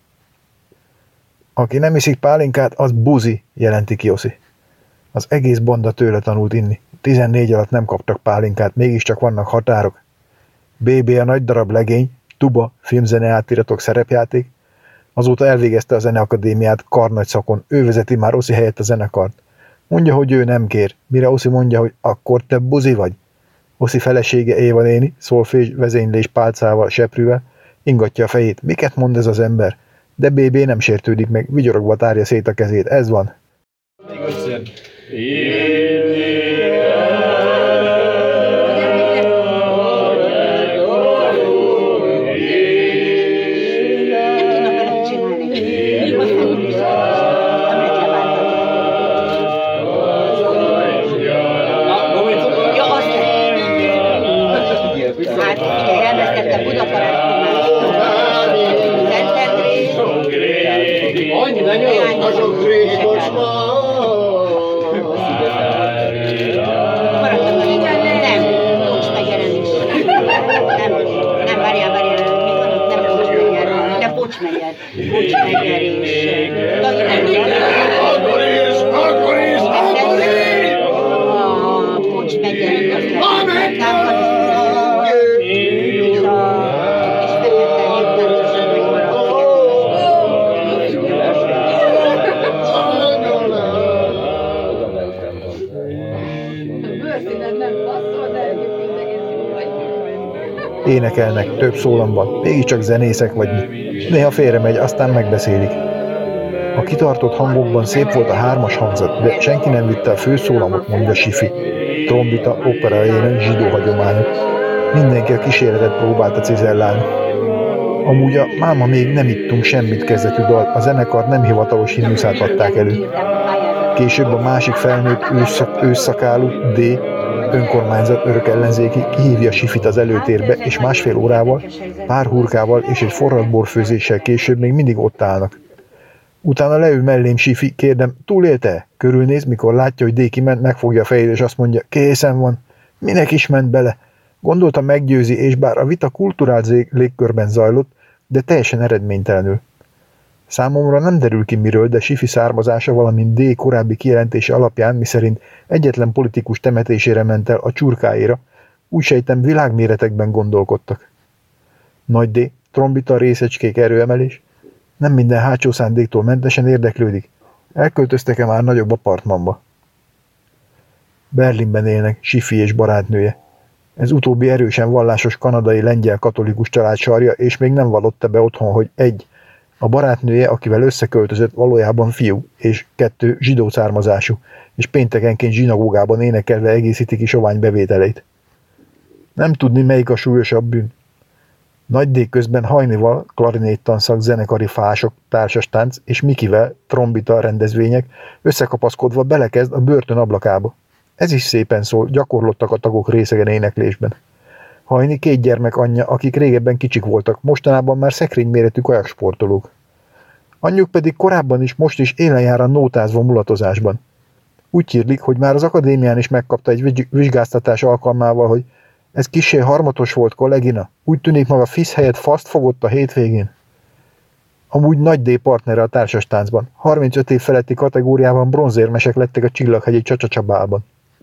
S2: Aki nem iszik pálinkát, az buzi, jelenti ki Oszi. Az egész banda tőle tanult inni. 14 alatt nem kaptak pálinkát, mégiscsak vannak határok. BB a nagy darab legény, Tuba, filmzene átiratok, szerepjáték. Azóta elvégezte a zeneakadémiát karnagy szakon, ő vezeti már Oszi helyett a zenekart. Mondja, hogy ő nem kér, mire Oszi mondja, hogy akkor te buzi vagy. Oszi felesége Éva néni, szolfés, vezénylés pálcával, seprűvel, ingatja a fejét. Miket mond ez az ember? De BB nem sértődik meg, vigyorogva tárja szét a kezét. Ez van. Énekelnek több szólamban, mégiscsak zenészek vagy mi. Néha félremegy, aztán megbeszélik. A kitartott hangokban szép volt a 3-as hangzat, de senki nem vitte a főszólamot, mondja Sifi. Trombita, opera ének, zsidó hagyományok. Mindenki a kísérletet próbálta cizellálni. Amúgy a máma még nem ittunk semmit kezdetű dal, a zenekar nem hivatalos himnuszát adták elő. Később a másik felnőtt ősszakálú D. önkormányzat örök ellenzéki kihívja Sifit az előtérbe, és másfél órával, pár hurkával és egy forralt borfőzéssel később még mindig ott állnak. Utána leül mellém Sifi, kérdem, túlélte? Körülnéz, mikor látja, hogy D kiment, megfogja a fejét, és azt mondja, készen van. Minek is ment bele? Gondolta meggyőzi, és bár a vita kulturált légkörben zajlott, de teljesen eredménytelenül. Számomra nem derül ki miről, de Sifi származása, valamint D korábbi kijelentése alapján, miszerint egyetlen politikus temetésére ment el a csurkáira, úgy sejtem világméretekben gondolkodtak. Nagy D, trombita, részecskék, erőemelés, nem minden hátsó szándéktól mentesen érdeklődik. Elköltöztek-e már nagyobb apartmanba?
S8: Berlinben élnek, Sifi és barátnője. Ez utóbbi erősen vallásos kanadai lengyel katolikus család sarja, és még nem vallotta be otthon, hogy 1. A barátnője, akivel összeköltözött, valójában fiú, és 2. zsidó származású, és péntekenként zsinagógában énekelve egészíti ki sovány bevételeit. Nem tudni, melyik a súlyosabb bűn. Nagy D közben Hajnival, klarinéttanszak, zenekari fások, társastánc, és Mikivel, trombita rendezvények összekapaszkodva belekezd a börtön ablakába. Ez is szépen szól, gyakorlottak a tagok részegen éneklésben. Hajni 2 gyermek anyja, akik régebben kicsik voltak, mostanában már szekrényméretű kajaksportolók. Anyjuk pedig korábban is, most is élen jár a nótázva mulatozásban. Úgy hírlik, hogy már az akadémián is megkapta egy vizsgáztatás alkalmával, hogy ez kissé harmatos volt, kollégina. Úgy tűnik, maga FISZ helyett faszt fogott a hétvégén. Amúgy Nagy D partnere a társastáncban. 35 év feletti kategóriában bronzérmesek lettek a Csillaghegyi Csacsacabálban.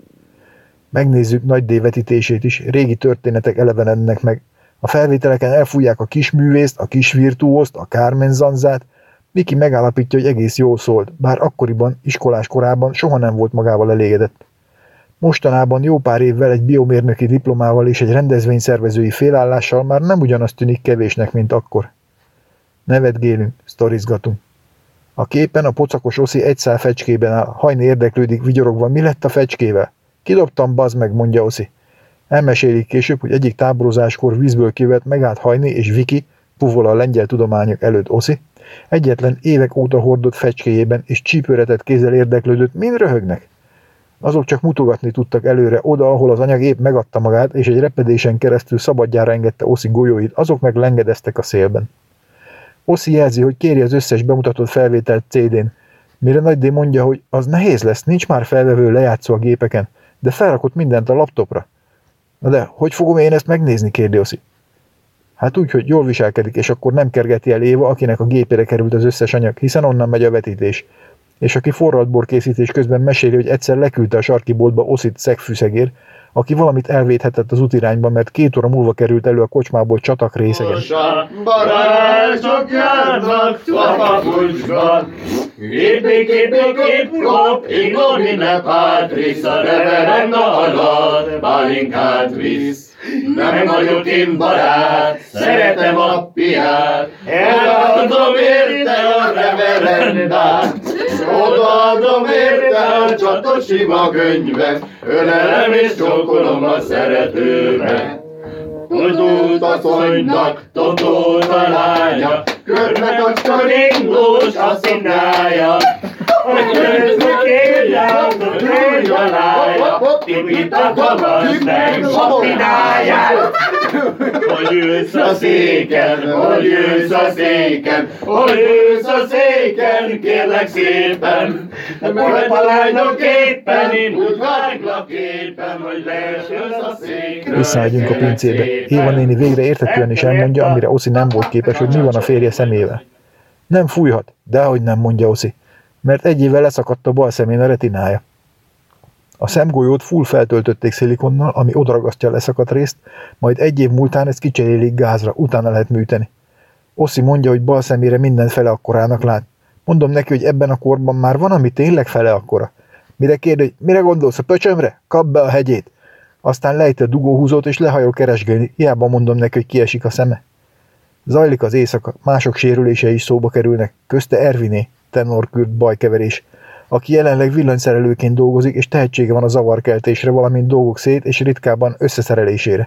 S8: Megnézzük Nagy D vetítését is, régi történetek elevenednek meg. A felvételeken elfújják a kisművészt, a kisvirtuózt, a Carmen Zanzát. Miki megállapítja, hogy egész jól szólt, bár akkoriban, iskolás korában soha nem volt magával elégedett. Mostanában jó pár évvel egy biomérnöki diplomával és egy rendezvényszervezői félállással már nem ugyanaz tűnik kevésnek, mint akkor. Nevetgélünk, sztorizgatunk. A képen a pocakos Oszi egy szál fecskében áll, Hajni érdeklődik vigyorogva, mi lett a fecskével? Kidobtam, bazd meg, mondja Oszi. Elmesélik később, hogy egyik táborozáskor vízből kivett megállt Hajni és Viki, puvol a lengyel tudományok előtt Oszi, egyetlen évek óta hordott fecskéjében és csípőretett kézzel érdeklődött, mind röhögnek. Azok csak mutogatni tudtak előre, oda, ahol az anyag épp megadta magát, és egy repedésen keresztül szabadjára engedte Oszi golyóit, azok meg lengedeztek a szélben. Oszi jelzi, hogy kéri az összes bemutatott felvételt CD-n, mire Nagy D mondja, hogy az nehéz lesz, nincs már felvevő lejátszó a gépeken, de felrakott mindent a laptopra. Na de, hogy fogom én ezt megnézni, kérdi Oszi. Hát úgy, hogy jól viselkedik, és akkor nem kergeti el Éva, akinek a gépére került az összes anyag, hiszen onnan megy a vetítés. És aki forralt készítés közben meséli, hogy egyszer leküldte a sarki boltba Oszit szegfűszegér, aki valamit elvéthetett az útirányban, mert 2 óra múlva került elő a kocsmából csatak részegen.
S9: Barátok járnak a papucsban, Gép, klop, ignomine patris, a reverenda alatt pálinkát visz. Nem vagyok én barát, szeretem a piát, eladom érte a reverendát, odaadom érte a csatos ima könyvet, ölelem és csókolom a szeretőmet. Tudult asszonynak, totót a lánya, körbe kacska ringós a színája, hogy közben kérját, hogy a lája, tipít a kamasz, meg sapináját. Hogy ülsz a széken, hogy ülsz a széken, hogy ülsz a széken, kérlek szépen. Majd a lányok éppen, én úgy váglak éppen, hogy leesülsz a székről.
S8: Visszamegyünk a pincébe. Éva néni végre érthetően is elmondja, amire Oszi nem volt képes, hogy mi van a férje szemével. Nem fújhat, dehogy nem, mondja Oszi, mert egy évvel leszakadt a bal szemén a retinája. A szemgolyót full feltöltötték szilikonnal, ami odaragasztja a leszakadt részt, majd egy év múltán ezt kicserélik gázra, utána lehet műteni. Oszi mondja, hogy bal szemére minden fele akkorának lát. Mondom neki, hogy ebben a korban már van, ami tényleg fele akkora. Mire kérde, hogy mire gondolsz, a pöcsömre? Kap be a hegyét! Aztán lejti a dugóhúzót és lehajol keresgélni, hiába mondom neki, hogy kiesik a szeme. Zajlik az éjszaka, mások sérülései is szóba kerülnek, közte Erviné, tenorkürt bajkeverés, aki jelenleg villanyszerelőként dolgozik, és tehetsége van a zavarkeltésre, valamint dolgok szét és ritkában összeszerelésére.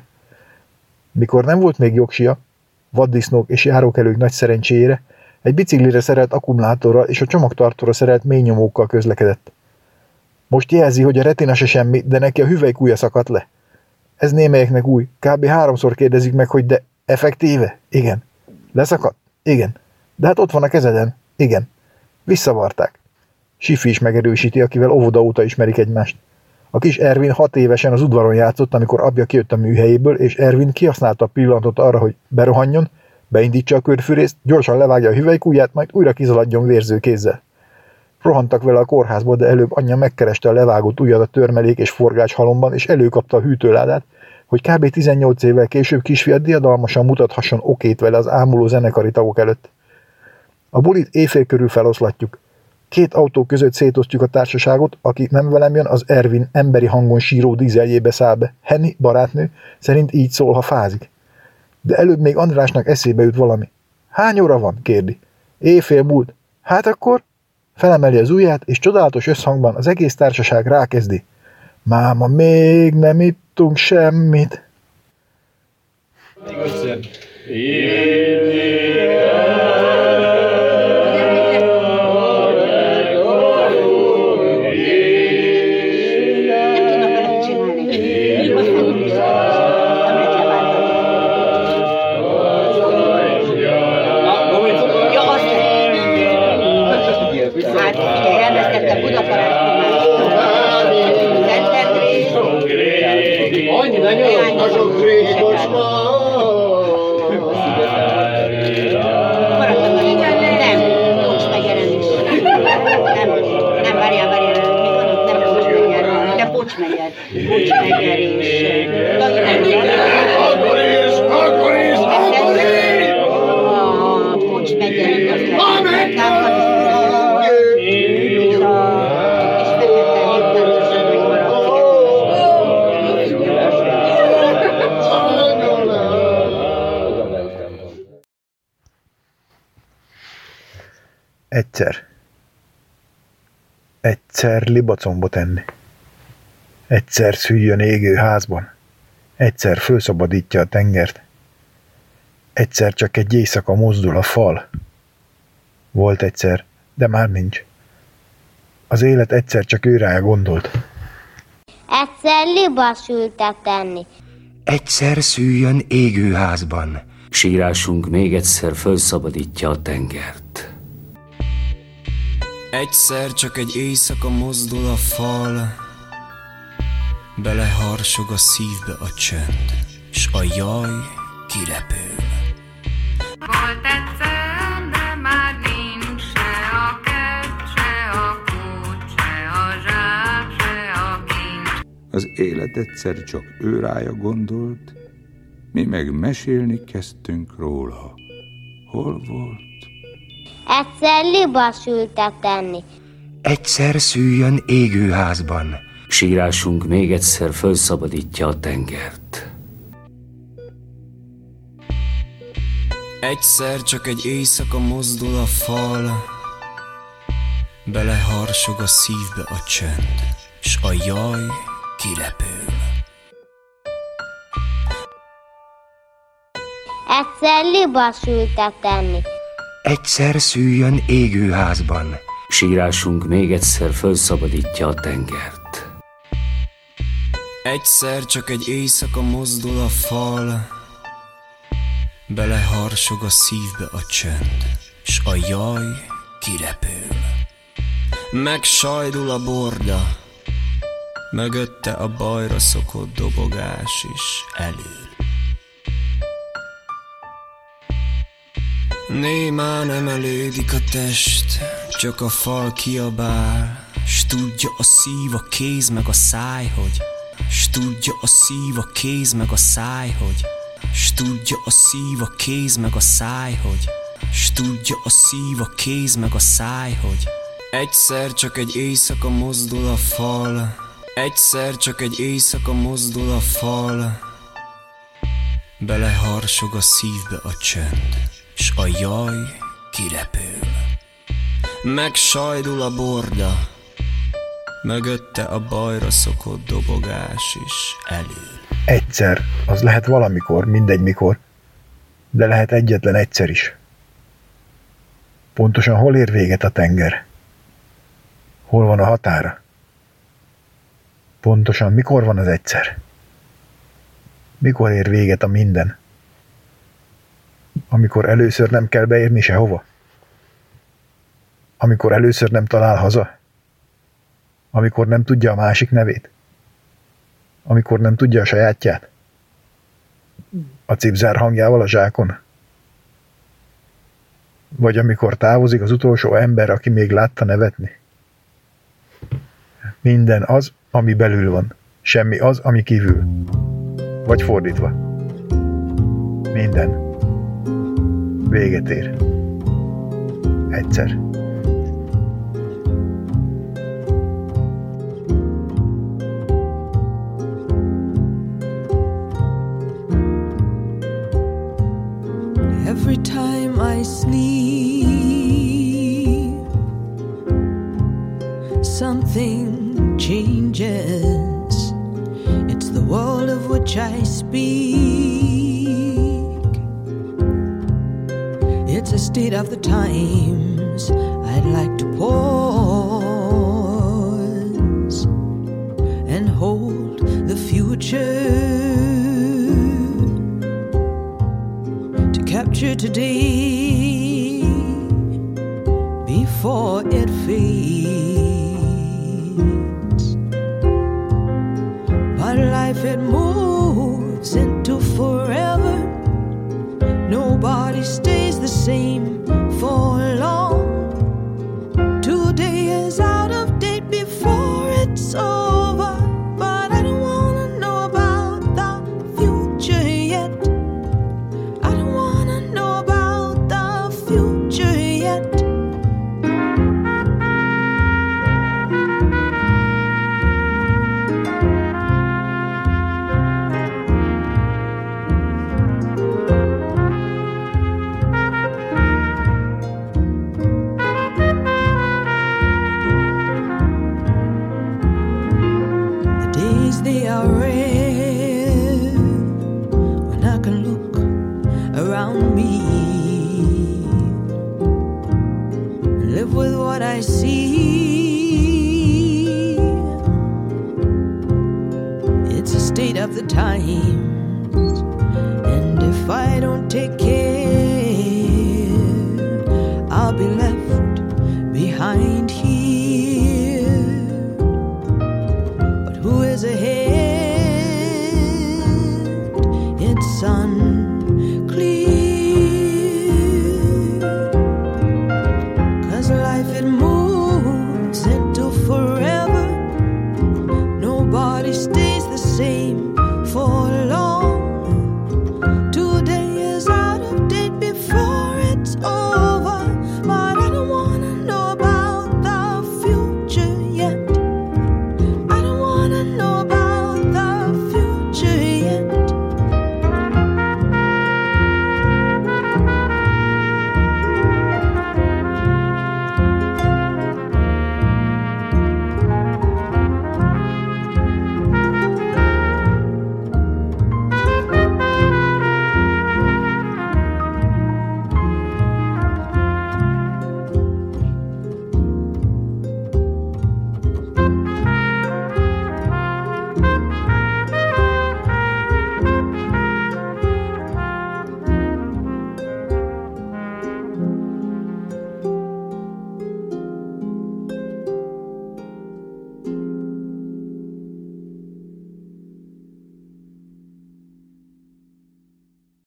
S8: Mikor nem volt még jogsia, vaddisznók és járókelők nagy szerencséjére, egy biciklire szerelt akkumulátorral és a csomagtartóra szerelt mélynyomókkal közlekedett. Most jelzi, hogy a retina se semmi, de neki a hüvelykúja szakadt le. Ez némelyeknek új, kb. 3-szor kérdezik meg, hogy de effektíve? Igen. Leszakadt? Igen. De hát ott van a kezeden? Igen. Visszavarták. Sifi is megerősíti, akivel óvoda óta ismerik egymást. A kis Ervin 6 évesen az udvaron játszott, amikor apja kijött a műhelyéből, és Ervin kihasználta a pillanatot arra, hogy berohanjon, beindítsa a körfűrészt, gyorsan levágja a hüvelykúját, majd újra kizaladjon vérző kézzel. Rohantak vele a kórházba, de előbb anyja megkereste a levágott ujjat a törmelék és forgács halomban, és előkapta a hűtőládát, hogy kb. 18 évvel később kisfiat diadalmasan mutathasson okét vele az ámuló zenekari tagok előtt. A bulit éjfél körül feloszlatjuk. 2 autó között szétosztjuk a társaságot, aki nem velem jön, az Ervin emberi hangon síró dízeljébe száll be. Henny, barátnő, szerint így szól, ha fázik. De előbb még Andrásnak eszébe jut valami. Hány óra van? Kérdi. Éjfél múlt. Hát akkor? Felemeli az ujját, és csodálatos összhangban az egész társaság rákezdi. Máma, még nem ittunk semmit.
S9: Még egyszer.
S8: Egyszer libacombot enni. Egyszer szüljön égő házban. Egyszer fölszabadítja a tengert. Egyszer csak egy éjszaka mozdul a fal. Volt egyszer, de már nincs. Az élet egyszer csak őrá gondolt.
S10: Egyszer libas ültet enni.
S11: Egyszer szüljön égő házban.
S12: Sírásunk még egyszer fölszabadítja a tengert.
S13: Egyszer csak egy éjszaka mozdul a fal, beleharsog a szívbe a csönd, s a jaj kirepül.
S14: Volt egyszer, de már nincs se a kert, se a kút, se a zsák, se a kincs.
S15: Az élet egyszer csak ő rája gondolt, mi meg mesélni kezdtünk róla. Hol volt?
S10: Egyszer libas ültet enni.
S11: Egyszer szüljön égő házban.
S12: Sírásunk még egyszer fölszabadítja a tengert.
S13: Egyszer csak egy éjszaka mozdul a fal, beleharsog a szívbe a csönd, s a jaj kirepül.
S10: Egyszer libas ültet enni.
S11: Egyszer szüljön égő házban.
S12: Sírásunk még egyszer fölszabadítja a tengert.
S13: Egyszer csak egy éjszaka mozdul a fal, beleharsog a szívbe a csönd, s a jaj kirepül. Megsajdul a borda, mögötte a bajra szokott dobogás is elül. Némán emelődik a test, csak a fal kiabál, s tudja a szív, a kéz meg a száj, hogy s tudja a szív, a kéz meg a száj, hogy s tudja a szív, a kéz meg a száj, hogy s tudja a szív, a kéz meg a száj, hogy egyszer csak egy éjszaka mozdul a fal, egyszer csak egy éjszaka mozdul a fal, beleharsog a szívbe a csönd, s a jaj kirepül. Megsajdul a borda, mögötte a bajra szokott dobogás is elül.
S8: Egyszer, az lehet valamikor, mindegy mikor, de lehet egyetlen egyszer is. Pontosan hol ér véget a tenger? Hol van a határa? Pontosan mikor van az egyszer? Mikor ér véget a minden? Amikor először nem kell beérni sehova? Amikor először nem talál haza? Amikor nem tudja a másik nevét? Amikor nem tudja a sajátját? A cipzár hangjával a zsákon? Vagy amikor távozik az utolsó ember, aki még látta nevetni? Minden az, ami belül van. Semmi az, ami kívül. Vagy fordítva. Minden véget ér. Egyszer.
S16: something changes. It's the world of which I speak. It's a state of the times. I'd like to pause and hold the future, to capture today before it fades. But life, it moves into forever. Nobody stays the same for long. Today is out of date before it's over. But I don't wanna know about the future yet. I don't wanna know about the future yet. They are rare when I can look around me, live with what I see. It's a state of the times, and if I don't take care